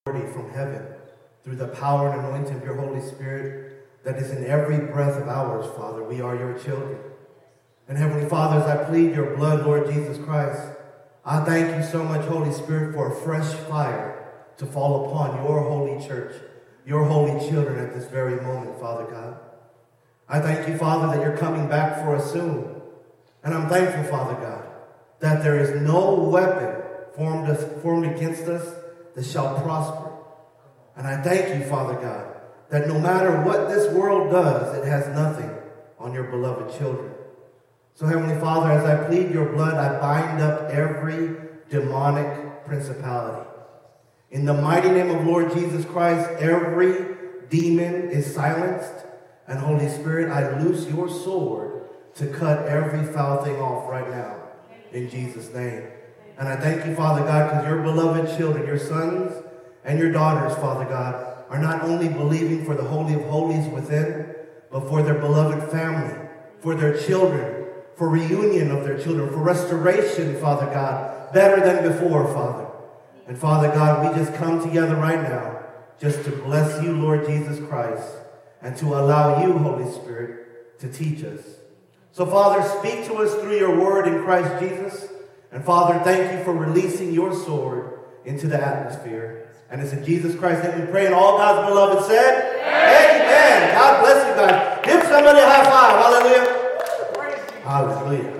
from heaven through the power and anointing of your Holy Spirit that is in every breath of ours, Father. We are your children. And Heavenly Father, as I plead your blood, Lord Jesus Christ, I thank you so much, Holy Spirit, for a fresh fire to fall upon your holy church, your holy children at this very moment, Father God. I thank you, Father, that you're coming back for us soon. And I'm thankful, Father God, that there is no weapon formed against us that shall prosper. And I thank you, Father God, that no matter what this world does, it has nothing on your beloved children. So, Heavenly Father, as I plead your blood, I bind up every demonic principality. In the mighty name of Lord Jesus Christ, every demon is silenced. And Holy Spirit, I loose your sword to cut every foul thing off right now. In Jesus' name. And I thank you, Father God, because your beloved children, your sons and your daughters, Father God, are not only believing for the Holy of Holies within, but for their beloved family, for their children, for reunion of their children, for restoration, Father God, better than before, Father. And Father God, we just come together right now just to bless you, Lord Jesus Christ, and to allow you, Holy Spirit, to teach us. So, Father, speak to us through your word in Christ Jesus. And Father, thank you for releasing your sword into the atmosphere. And it's in Jesus Christ's name we pray, and all God's beloved said, Amen. God bless you guys. Give somebody a high five. Hallelujah. Hallelujah.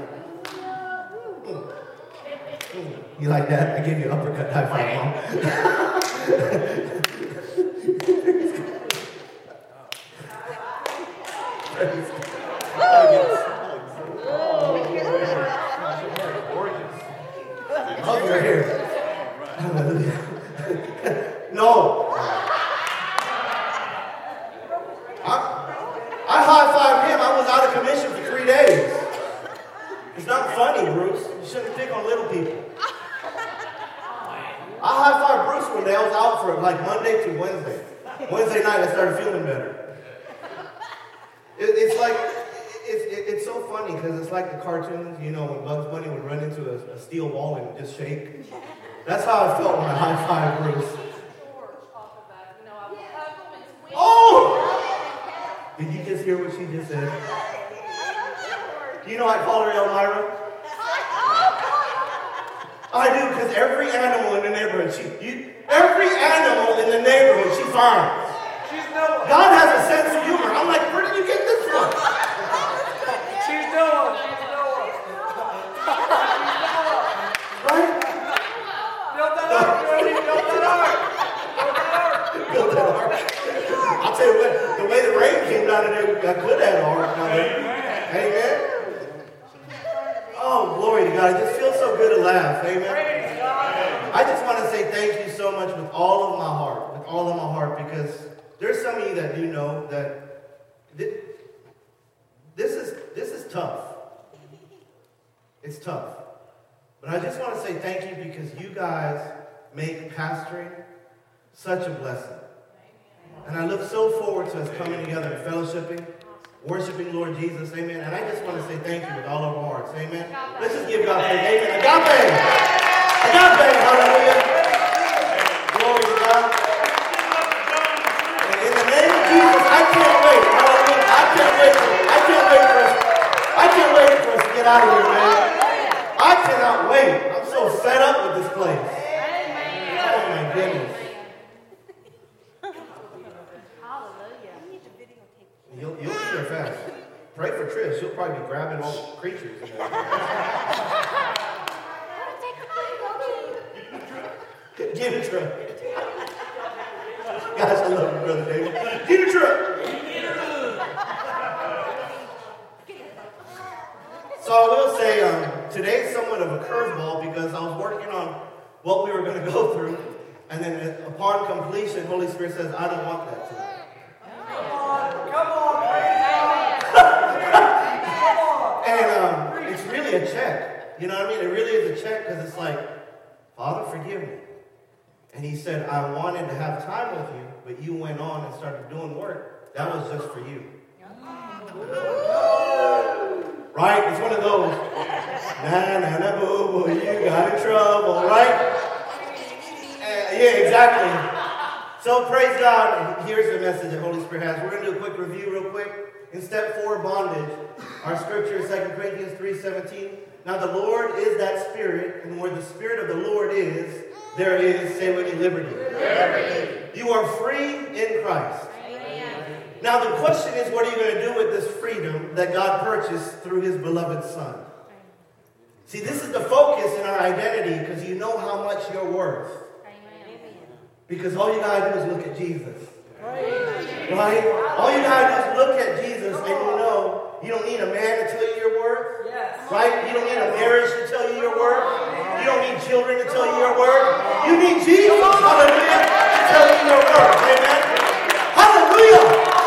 You like that? I gave you an uppercut high five, Mom. Over here. Hallelujah. No. I high-fived him. I was out of commission for 3 days. It's not funny, Bruce. You shouldn't pick on little people. I high-fived Bruce one day. I was out for like Monday to Wednesday. Wednesday night, I started feeling better. It's like, it's so funny because it's like the cartoons, you know, when Bugs Bunny would run into a steel wall and just shake. That's how I felt when I high-fived Bruce. Oh! Did you just hear what she just said? You know I call her Elmira? I do, because every animal in the neighborhood, every animal in the neighborhood, she finds. God has a sense of humor. I'm like, where did you get this from? She's Noah. Right? Build that ark, Jody. Build that ark. Build that ark. I'll tell you what, the way the rain came down today, I could have an ark down there. Amen. Oh, glory to God. It just feels so good to laugh. Amen. I just want to say thank you so much with all of my heart, because there's some of you that do know that this is tough. It's tough. But I just want to say thank you because you guys make pastoring such a blessing. And I look so forward to us coming together and fellowshipping, worshiping Lord Jesus, amen. And I just want to say thank you with all of our hearts, amen. Let's just give God praise, amen. Agape! Agape, hallelujah. Glory to God. And in the name of Jesus, I can't wait, hallelujah. I can't wait for us to get out of here, man. I cannot wait. I'm so fed up with this place. Oh, my goodness. You'll be there fast. Pray for Trish. She'll probably be grabbing all the creatures. Give it a try. Guys, I love you, Brother David. Give it a try. So I will say, today's somewhat of a curveball because I was working on what we were going to go through. And then upon completion, Holy Spirit says, I don't want that tonight. Come on, And it's really a check. You know what I mean? It really is a check because it's like, Father, forgive me. And he said, I wanted to have time with you, but you went on and started doing work. That was just for you. Right? It's one of those, na boo boo, you got in trouble, right? Yeah, exactly. So praise God. Here's the message that Holy Spirit has. We're going to do a quick review real quick. In step 4, bondage, our scripture is 2 Corinthians 3:17. Now the Lord is that Spirit, and where the Spirit of the Lord is, there is, say with me, liberty. You are free in Christ. Amen. Now the question is, what are you going to do with this freedom that God purchased through his beloved Son? See, this is the focus in our identity because you know how much you're worth. Because all you got to do is look at Jesus. Right? All you got to do is look at Jesus and you know you don't need a man to tell you your worth. Right? You don't need a marriage to tell you your worth. You don't need children to tell you your worth. You need Jesus, hallelujah, to tell you your worth. Amen? Hallelujah!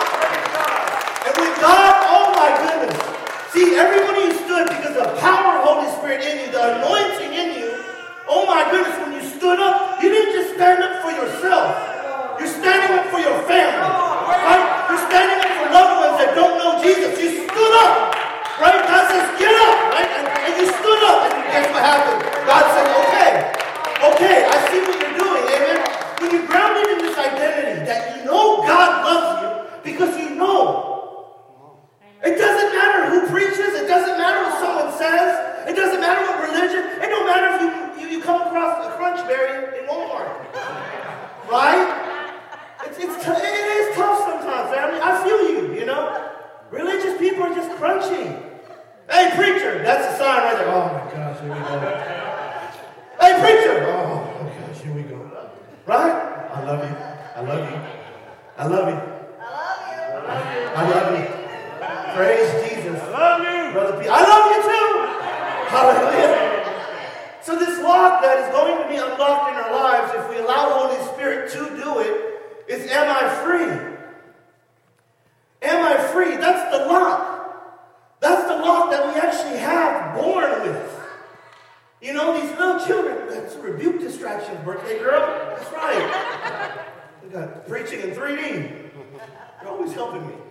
And with God, oh my goodness. See, everybody who stood because of the power of Holy Spirit in you, the anointing in you, oh my goodness, when you stood up, you didn't just stand up for yourself. You're standing up for your family. Right? You're standing up for loved ones that don't know Jesus. You stood up. Right? God says, get up. Right? And you stood up. And guess what happened? God said, okay, I see what you're doing. Amen? When you're grounded in this identity that you know God loves you because you know. It doesn't matter who preaches. It doesn't matter what someone says. It doesn't matter what religion. It don't matter if you come across a crunch berry in Walmart. Right? It is tough sometimes, family. I feel you, you know. Religious people are just crunchy. Hey, preacher. That's a sign right there. Oh, my gosh, here we go. Hey, preacher. Oh, my gosh, here we go. Right? I love you. I love you. I love you. I love you. Praise Jesus. I love you. Brother P. I love you too. Hallelujah. So this lock that is going to be unlocked in our lives, if we allow the Holy Spirit to do it, is am I free? Am I free? That's the lock. That's the lock that we actually have born with. You know, these little children, that's rebuke distractions, birthday girl. That's right. We got preaching in 3D. You're always helping me.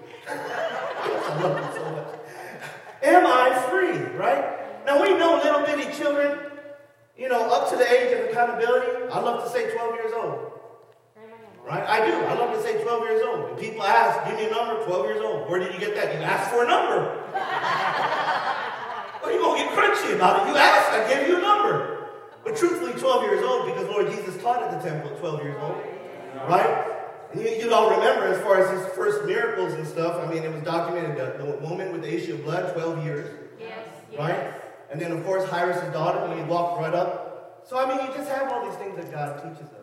I love you so much. Am I free, right? Now we know little bitty children, you know, up to the age of accountability. I love to say 12 years old. Right? I do. I love to say 12 years old. When people ask, give me a number, 12 years old. Where did you get that? You asked for a number. Well, you're going to get crunchy about it. You asked, I gave you a number. But truthfully, 12 years old, because Lord Jesus taught at the temple at 12 years old. Right? And you all remember, as far as his first miracles and stuff, I mean, it was documented, the woman with the issue of blood, 12 years. Yes. Right? And then, of course, Jairus' daughter, when he walked right up. So, I mean, you just have all these things that God teaches us.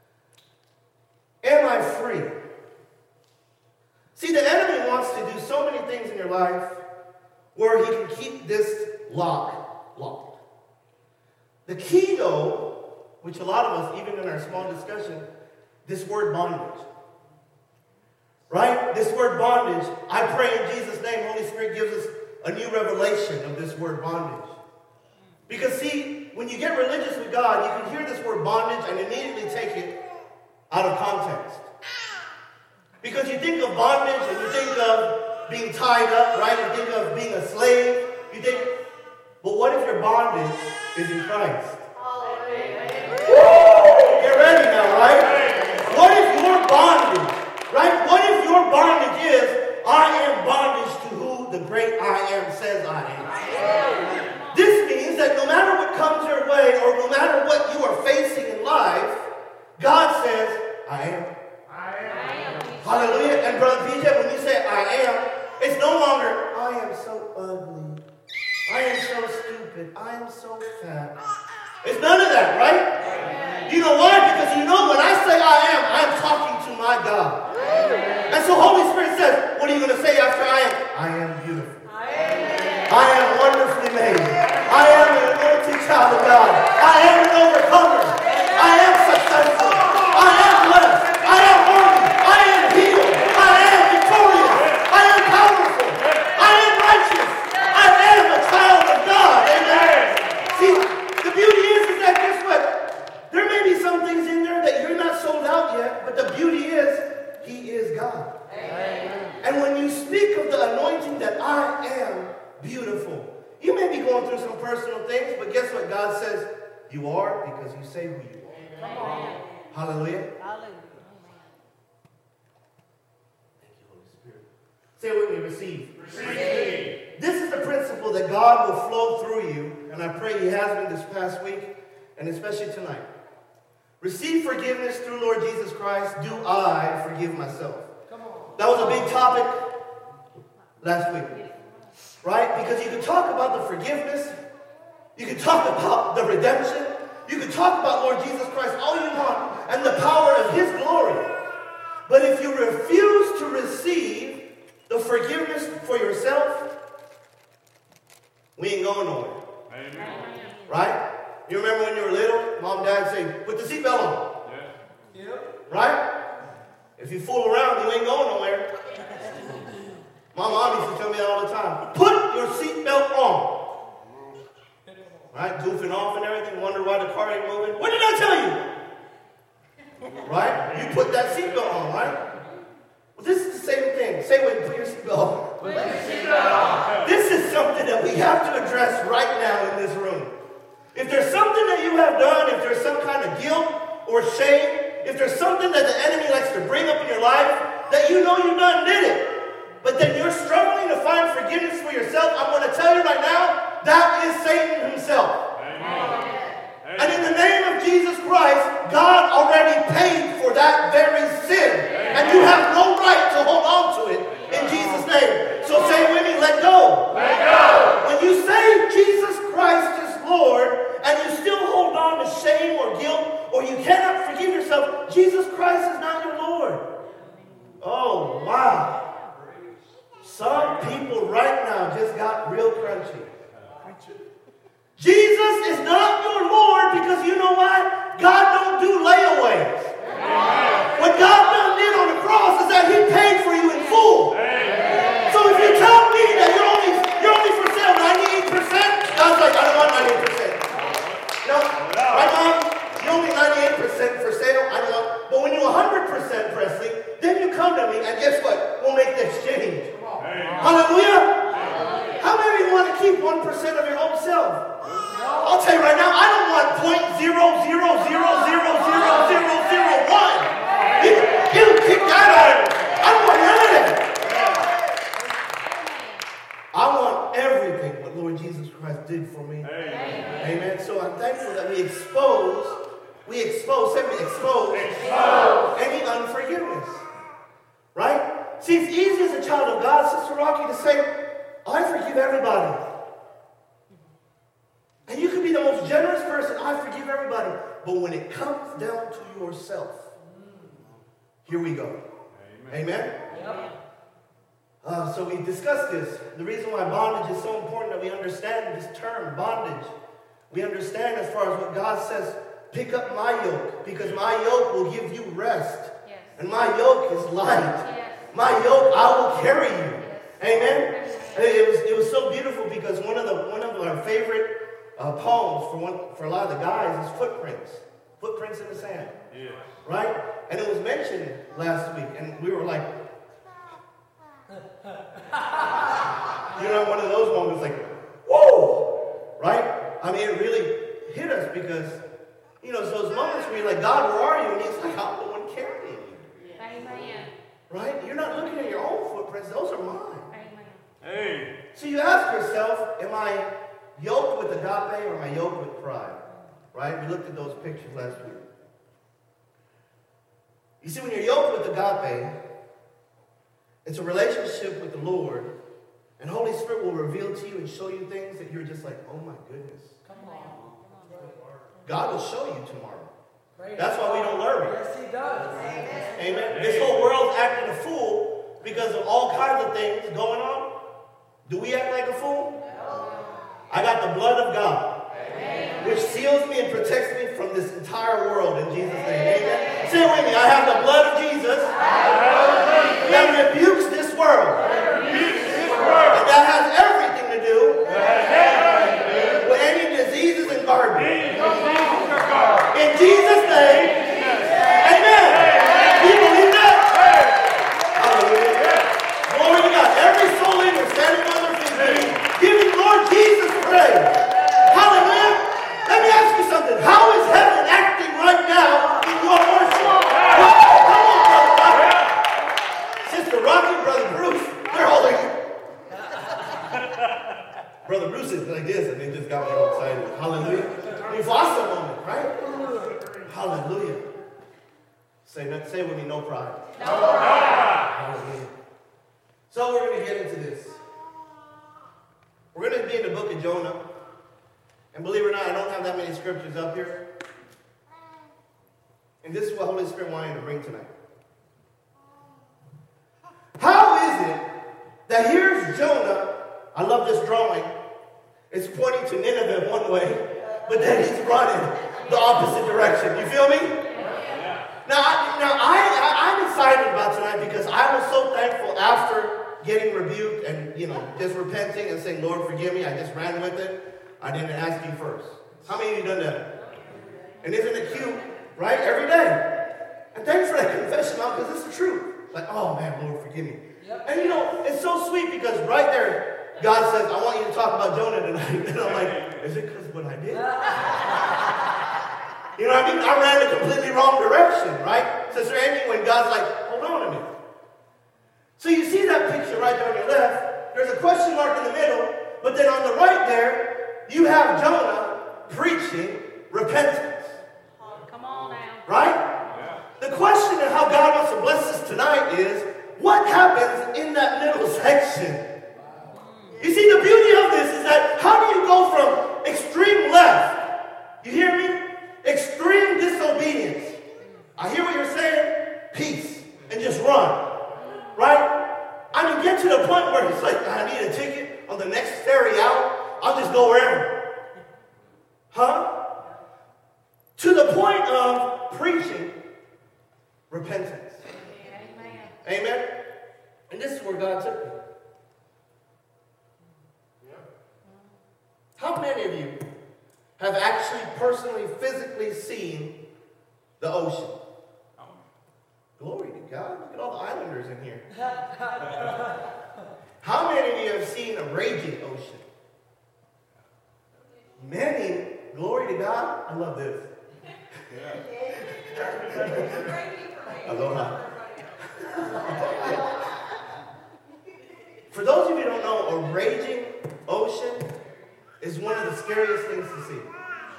Am I free? See, the enemy wants to do so many things in your life where he can keep this locked. The key, though, which a lot of us, even in our small discussion, this word bondage. Right? This word bondage, I pray in Jesus' name, Holy Spirit gives us a new revelation of this word bondage. Because see, when you get religious with God, you can hear this word bondage and immediately take it out of context. Because you think of bondage and you think of being tied up, right? You think of being a slave. You think, but what if your bondage is in Christ? Woo! Get ready now, right? What if your bondage, right? What if your bondage is, I am bondage to who the great I am says I am? This means that no matter what comes your way or no matter what you are facing in life, God says, I am. Hallelujah. And Brother PJ, when you say I am, it's no longer, I am so ugly. I am so stupid. I am so fat. It's none of that, right? You know why? Because you know when I say I am, I'm talking to my God. And so Holy Spirit says, what are you going to say after I am? I am beautiful. I am wonderfully made. I am an anointed child of God. I am an overcomer. I am successful. I am blessed. I am worthy. I am healed. I am victorious. I am powerful. I am righteous. I am a child of God. Amen. See, the beauty is that guess what? There may be some things in there that you're not sold out yet, but the beauty is, He is God. Amen. And when you speak of the anointing that I am beautiful, you may be going through some personal things, but guess what? God says, you are because you say who you are. Amen. Hallelujah. Say it with me, receive. Receive. This is the principle that God will flow through you, and I pray He has been this past week, and especially tonight. Receive forgiveness through Lord Jesus Christ. Do I forgive myself? Come on. That was a big topic last week, right? Because you can talk about the forgiveness, you can talk about the redemption, you can talk about Lord Jesus Christ all you want, and the power of His glory. But if you refuse to receive the forgiveness for yourself, we ain't going nowhere. Amen. Right? You remember when you were little, mom and dad say, put the seatbelt on. Yeah. Yep. Right? If you fool around, you ain't going nowhere. My mom used to tell me that all the time. Put your seatbelt on. Right? Goofing off and everything, wonder why the car ain't moving. What did I tell you? Right? You put that seatbelt on, right? Well, this is the same thing. Say when you put your seatbelt on. Put your seatbelt on. This is something that we have to address right now in this room. If there's something that you have done, if there's some kind of guilt or shame, if there's something that the enemy likes to bring up in your life that you know you done did it, but then you're struggling to find forgiveness for yourself, I'm going to tell you right now, that is Satan himself. Amen. And in the name of Jesus Christ, God already paid for that very sin. And you have no right to hold on to it in Jesus' name. So say with me, let go. Let go. When you say Jesus Christ is Lord, and you still hold on to shame or guilt, or you cannot forgive yourself, Jesus Christ is not your Lord. Oh, wow. Some people right now just got real crunchy. Jesus is not your Lord because you know why? God don't do layaways. What God done did on the cross is that He paid for you in full. So if you tell me that you're only for sale 98%, God's like, I don't want 98%. No, right, Mom? You're only 98% for sale. I don't want. But when you're 100%, Presley, then you come to me and guess what? We'll make the exchange. Hallelujah. How many of you want to keep 1% of your own self? I'll tell you right now, I don't want 0.00000001. You kick that out. I don't want none of that. I want everything what Lord Jesus Christ did for me. Amen. So I'm thankful that we expose any unforgiveness. Right? See, it's easy as a child of God, Sister Rocky, to say, I forgive everybody. And you can be the most generous person, I forgive everybody. But when it comes down to yourself, here we go. Amen? So we discussed this. The reason why bondage is so important that we understand this term, bondage. We understand as far as what God says, pick up my yoke, because my yoke will give you rest. Yes. And my yoke is light. Yes. My yoke, I will carry you. Yes. Amen? It was so beautiful because one of our favorite poems for a lot of the guys is Footprints. Footprints in the sand. Yeah. Right? And it was mentioned last week, and we were like, one of those moments like, whoa! Right? I mean, it really hit us because, it's those moments where you're like, God, where are you? And He's like, I'm the one carrying you. Amen. Right? You're not looking at your own footprints. Those are mine. Amen. Hey. So you ask yourself, am I yoked with agape or am I yoked with pride? Right? We looked at those pictures last week. You see, when you're yoked with agape, it's a relationship with the Lord, and Holy Spirit will reveal to you and show you things that you're just like, oh my goodness. Come on. God will show you tomorrow. That's why we don't learn. Yes, He does. Amen. This whole world's acting a fool because of all kinds of things going on. Do we act like a fool? No. I got the blood of God, which seals me and protects me from this entire world in Jesus' name. Amen. Say it with me. I have the blood of Jesus that rebukes this world. And that has everything to do with any diseases and garbage. In Jesus' name, amen. Do you believe that? Hallelujah. Glory to God. Every soul in here standing on their feet, giving Lord Jesus praise. Hallelujah. Let me ask you something. How is heaven acting right now in your worship? Come on, Brother Rocky. Sister Rocky, Brother Bruce. Say with me, no pride. No pride. Hallelujah. So we're going to get into this. We're going to be in the book of Jonah. And believe it or not, I don't have that many scriptures up here. And this is what Holy Spirit wanted to bring tonight. How is it that here's Jonah? I love this drawing. It's pointing to Nineveh one way, but then he's running the opposite direction. You feel me? Now I'm excited about tonight because I was so thankful after getting rebuked and, just repenting and saying, Lord, forgive me. I just ran with it. I didn't ask you first. How many of you done that? And isn't it cute, right? Every day. And thanks for that confession, because it's the truth. Like, oh man, Lord, forgive me. Yep. And it's so sweet because right there, God says, I want you to talk about Jonah tonight. And I'm like, is it because of what I did? You know what I mean? I ran the completely wrong direction, right? Sister Amy, when God's like, hold on a minute. So you see that picture right there on your left. There's a question mark in the middle, but then on the right there, you have Jonah preaching repentance. Come on now. Right? Yeah. The question of how God wants to bless us tonight is, what happens in that middle section? You see, the beauty of this is that how do you go from extreme left, you hear me? Extreme disobedience. I hear what you're saying. Peace. And just run. Right? I mean, get to the point where it's like, I need a ticket on the next ferry out. I'll just go wherever. Huh? To the point of preaching repentance. Amen. Amen? And this is where God took me. How many of you have actually personally, physically seen the ocean? Glory to God. Look at all the islanders in here. How many of you have seen a raging ocean? Many. Glory to God. I love this. Aloha. For those of you who don't know, a raging ocean is one of the scariest things to see.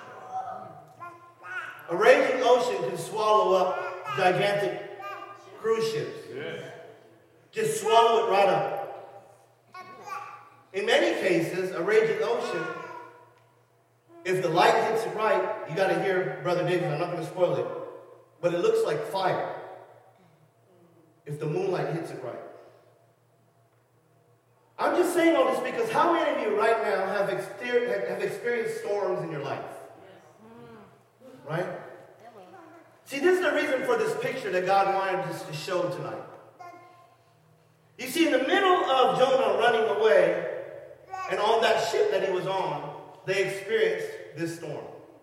A raging ocean can swallow up gigantic cruise ships. Just swallow it right up. In many cases, a raging ocean, if the light hits it right, you got to hear Brother David, I'm not going to spoil it, but it looks like fire if the moonlight hits it right. I'm just saying all this because how many of you right now have experienced storms in your life? Right? See, this is the reason for this picture that God wanted us to show tonight. You see, in the middle of Jonah running away, and on that ship that he was on, they experienced this storm.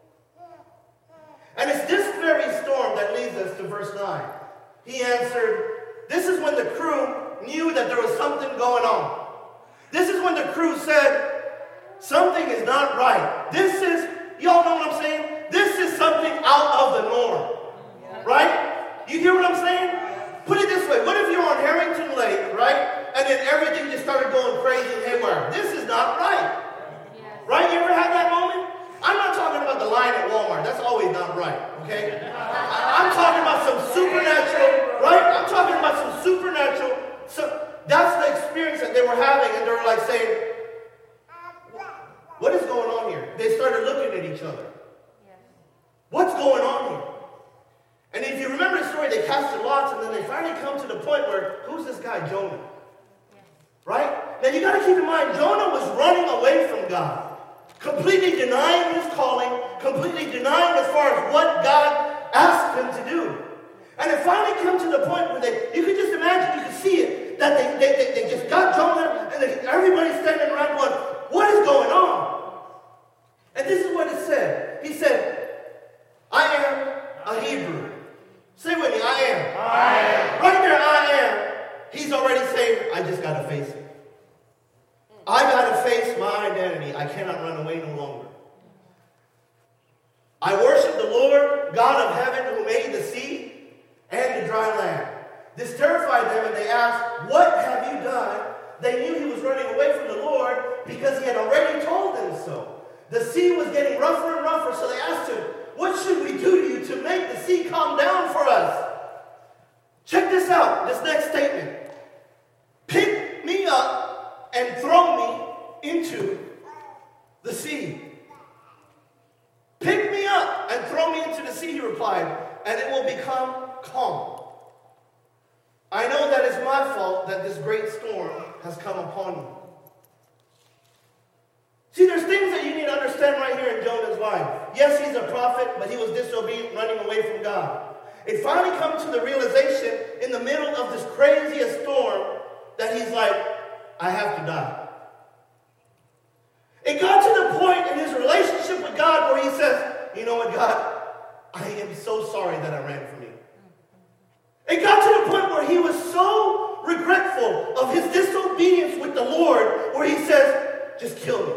And it's this very storm that leads us to verse 9. He answered, this is when the crew knew that there was something going on. This is when the crew said, something is not right. This is, y'all know what I'm saying? This is something out of the norm. Right? You hear what I'm saying? Put it this way. What if you're on Harrington Lake, right? And then everything just started going crazy and haywire. This is not right. Right? You ever had that moment? I'm not talking about the line at Walmart. That's always not right. Okay? I'm talking about some supernatural, right? I'm talking about some supernatural. So that's the experience that they were having. And they were like saying, what is going on here? They started looking at each other. What's going on here? And if you remember the story, they casted lots, and then they finally come to the point where, who's this guy, Jonah? Right? Now you got to keep in mind, Jonah was running away from God, completely denying his calling, completely denying as far as what God asked him to do. And it finally comes to the point where you could just imagine, you could see it, that they just got Jonah, and everybody's standing around going, what is going on? And this is what it said. He said, I am a Hebrew. Say with me, I am. I am. Right there, I am. He's already saying, I just got to face it. I got to face my identity. I cannot run away no longer. I worship the Lord, God of heaven, who made the sea and the dry land. This terrified them, and they asked, what have you done? They knew he was running away from the Lord because he had already told them so. The sea was getting rougher and rougher, so they asked him, what should we do to you to make the sea calm down for us? my fault that this great storm has come upon you. See, there's things that you need to understand right here in Jonah's life. Yes, he's a prophet, but he was disobedient, running away from God. It finally comes to the realization in the middle of this craziest storm that he's like, I have to die. It got to the point in his relationship with God where he says, you know what, God, I am so sorry that I ran from you. It got to the point where he was so regretful of his disobedience with the Lord where he says, just kill me.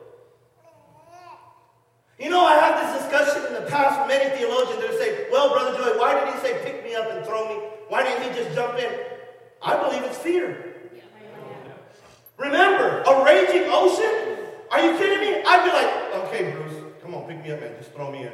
You know, I had this discussion in the past with many theologians that say, well, Brother Joey, why did he say pick me up and throw me? Why didn't he just jump in? I believe it's fear. Remember, a raging ocean? Are you kidding me? I'd be like, okay, Bruce, come on, pick me up, man. Just throw me in.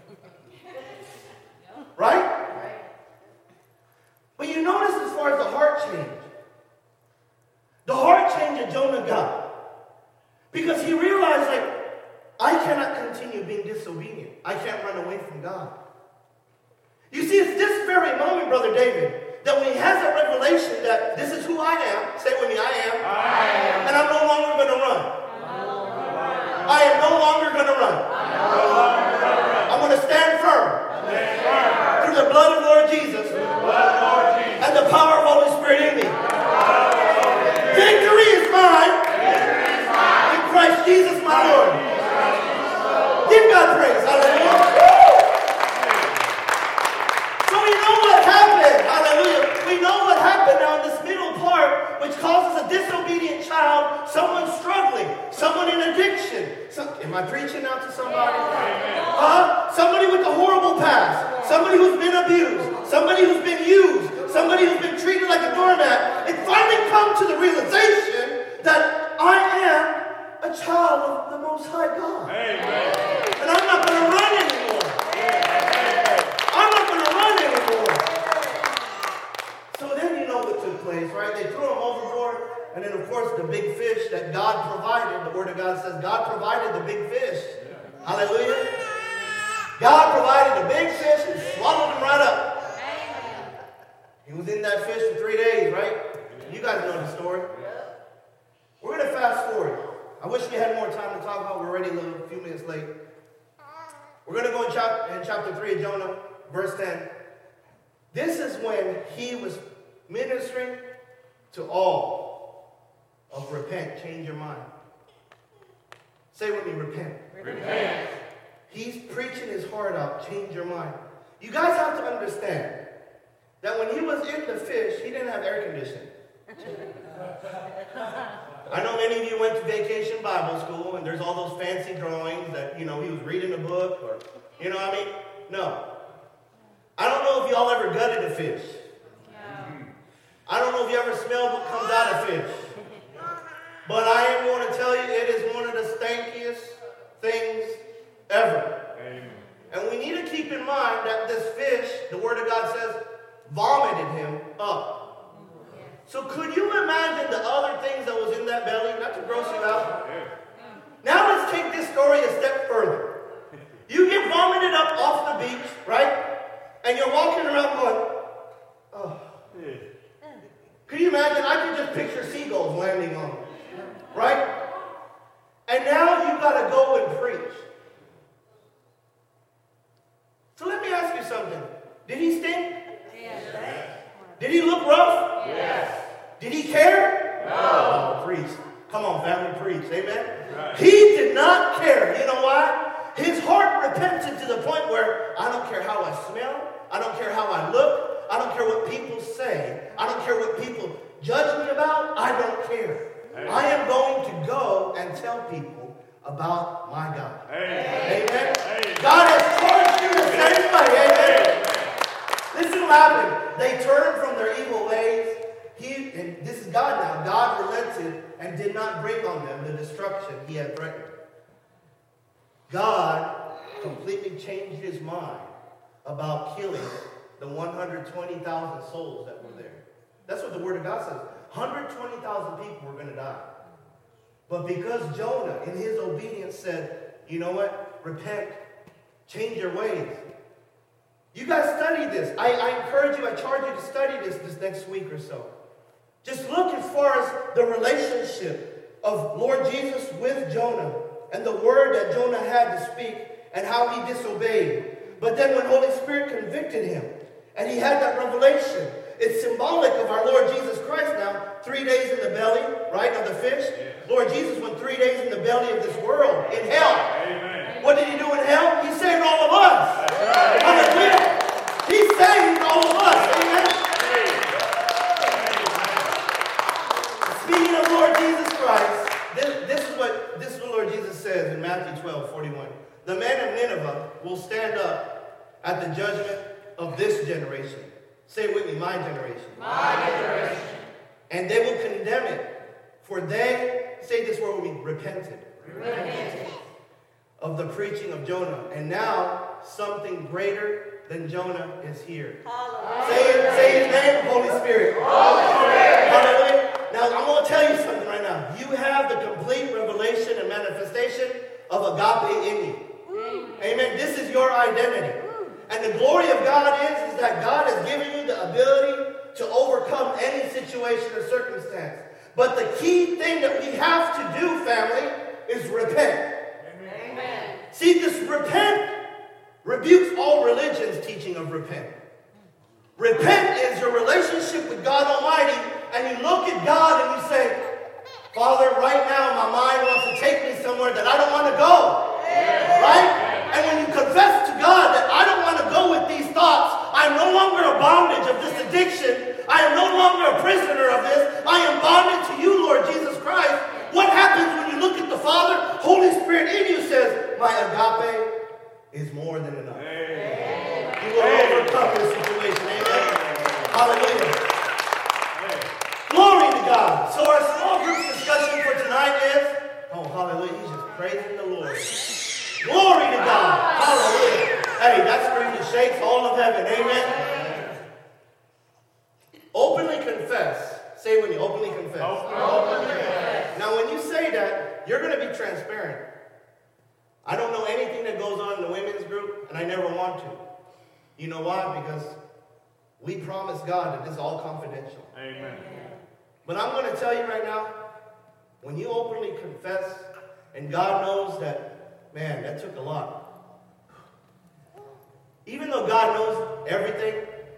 Right? But you notice as far as the heart change. The heart change that Jonah got. Because he realized, like, I cannot continue being disobedient. I can't run away from God. You see, it's this very moment, Brother David, that when he has that revelation that this is who I am, say with me, I am. And I'm no longer going to run. I am no longer going to run. I'm going to stand firm. Through the blood of Lord Jesus. And the power of Holy Spirit in me. Victory is mine. In Christ Jesus my Lord. Give God praise. Hallelujah. So we know what happened. Hallelujah. We know what happened now in this middle part, which causes a disobedient child, someone struggling, someone in addiction. Am I preaching now to somebody? Somebody with a horrible past. Somebody who's been abused. Somebody who's been used. Somebody who's been treated like a doormat. It finally comes to the realization that I am a child of the Most High God. Amen. And I'm not going to run anymore. I'm not going to run anymore. So then you know what took place, right? They threw him overboard. And then, of course, the big fish that God provided, the Word of God says God provided the big fish. Hallelujah. God provided the big fish and swallowed him right up. He was in that fish for 3 days, right? You guys know the story. We're going to fast forward. I wish we had more time to talk about. We're already a few minutes late. We're going to go in chapter 3 of Jonah, verse 10. This is when he was ministering to all of repent, change your mind. Say with me, repent. Repent. He's preaching his heart out, change your mind. You guys have to understand that when he was in the fish, he didn't have air conditioning. I know many of you went to vacation Bible school, and there's all those fancy drawings that, he was reading a book, or, what I mean? No. I don't know if y'all ever gutted a fish. I don't know if you ever smelled what comes out of fish. But I am going to tell you, it is one of the stankiest things ever. Amen. And we need to keep in mind that this fish, the Word of God says, vomited him up. So could you imagine the other things that was in that belly? Not to gross you out. Now let's take this story a step further. You get vomited up off the beach, right? And you're walking around going, oh. Could you imagine? I could just picture seagulls landing on you, right? And now you've got to go and preach. So let me ask you something. Did he stink? Yes. Did he look rough? Yes. Did he care? No. Oh, preach. Come on, family, preach. Amen? Right. He did not care. You know why? His heart repented to the point where I don't care how I smell. I don't care how I look. I don't care what people say. I don't care what people judge me about. I don't care. Amen. I am going to go and tell people about my God. Amen. Amen. Amen. God has charged you the same way. Amen. Listen what happened. They turned from their evil ways. And this is God now. God relented and did not bring on them the destruction he had threatened. God completely changed his mind about killing the 120,000 souls that were there. That's what the Word of God says. 120,000 people were going to die. But because Jonah, in his obedience, said, you know what? Repent. Change your ways. You guys study this. I encourage you, I charge you to study this next week or so. Just look as far as the relationship of Lord Jesus with Jonah and the word that Jonah had to speak and how he disobeyed. But then when Holy Spirit convicted him and he had that revelation, it's symbolic of our Lord Jesus Christ now. 3 days in the belly, right, of the fish. Yes. Lord Jesus went 3 days in the belly of this world, in hell. Amen. What did he do in hell? He saved all of us. Hallelujah. He saved all of us. Amen. Speaking of Lord Jesus Christ, this is what Lord Jesus says in Matthew 12:41. The men of Nineveh will stand up at the judgment of this generation. Say it with me, my generation. My generation. And they will condemn it, for they, say this word with me, repented. Of the preaching of Jonah. And now something greater than Jonah is here. Hallelujah. Say his name, Holy Spirit. Holy Spirit. Hallelujah. Now I'm going to tell you something right now. You have the complete revelation and manifestation of agape in you. Amen. This is your identity. And the glory of God is that God has given you the ability to overcome any situation or circumstance. But the key thing that we have to do, family, is repent. Amen. See, this repent rebukes all religion's teaching of repent. Repent is your relationship with God Almighty, and you look at God and you say, Father, right now my mind wants to take me somewhere that I don't want to go. Right? And when you confess to God that I don't want to go with these thoughts, I am no longer a bondage of this addiction. I am no longer a prisoner of this. I am bonded to you, Lord Jesus Christ. What happens when you look at the Father? Holy Spirit in you says, my agape is more than enough. Amen. You will overcome this situation. Amen. Hallelujah. Amen. Glory to God. So our small group discussion for tonight is, oh, hallelujah, he's just praising the Lord. Glory to God. Hallelujah. Hey, that screams and shakes all of heaven. Amen. Openly confess. Say it with me. Openly confess. Openly confess. Now, when you say that, you're going to be transparent. I don't know anything that goes on in the women's group, and I never want to. You know why? Because we promise God that this is all confidential. Amen. But I'm going to tell you right now, when you openly confess, and God knows that, man, that took a lot. Even though God knows everything,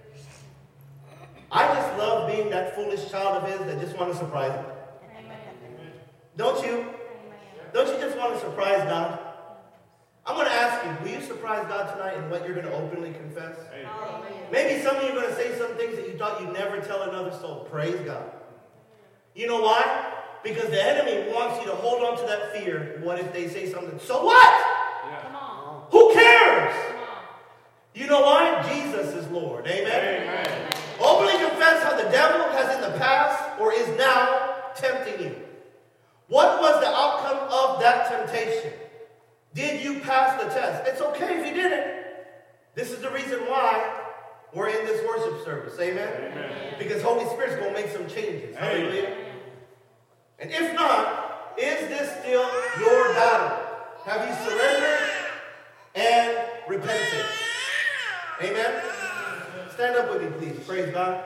I just love being that foolish child of his that just want to surprise him. Amen. Don't you? Amen. Don't you just want to surprise God? I'm going to ask you, will you surprise God tonight in what you're going to openly confess? Amen. Maybe some of you are going to say some things that you thought you'd never tell another soul. Praise God. You know why? Because the enemy wants you to hold on to that fear. What if they say something? So what? Yeah. Come on. Who cares? Come on. You know why? Jesus is Lord. Amen? Amen. Openly confess how the devil has in the past or is now tempting you. What was the outcome of that temptation? Did you pass the test? It's okay if you didn't. This is the reason why we're in this worship service. Amen? Amen. Because Holy Spirit's going to make some changes. Hallelujah. And if not, is this still your battle? Have you surrendered and repented? Amen? Stand up with me, please. Praise God.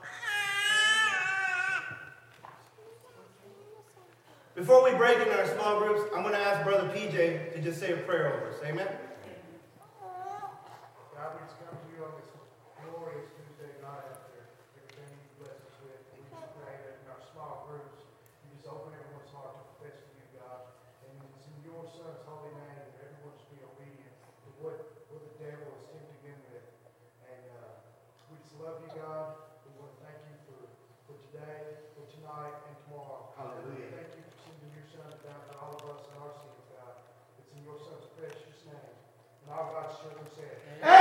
Before we break into our small groups, I'm going to ask Brother PJ to just say a prayer over us. Amen? God, we just come to you on this glorious Tuesday night after everything you bless us with. We just pray that in our small groups, you just open everyone's heart to confess to you, God. And it's in your Son's holy name that everyone should be obedient to what the devil is tempting them with. And we just love you, God. We want to thank you for today, for tonight, and tomorrow. Hallelujah. Thank you for sending your Son down for all of us and our sins, God. It's in your Son's precious name. And all God's children said, Amen.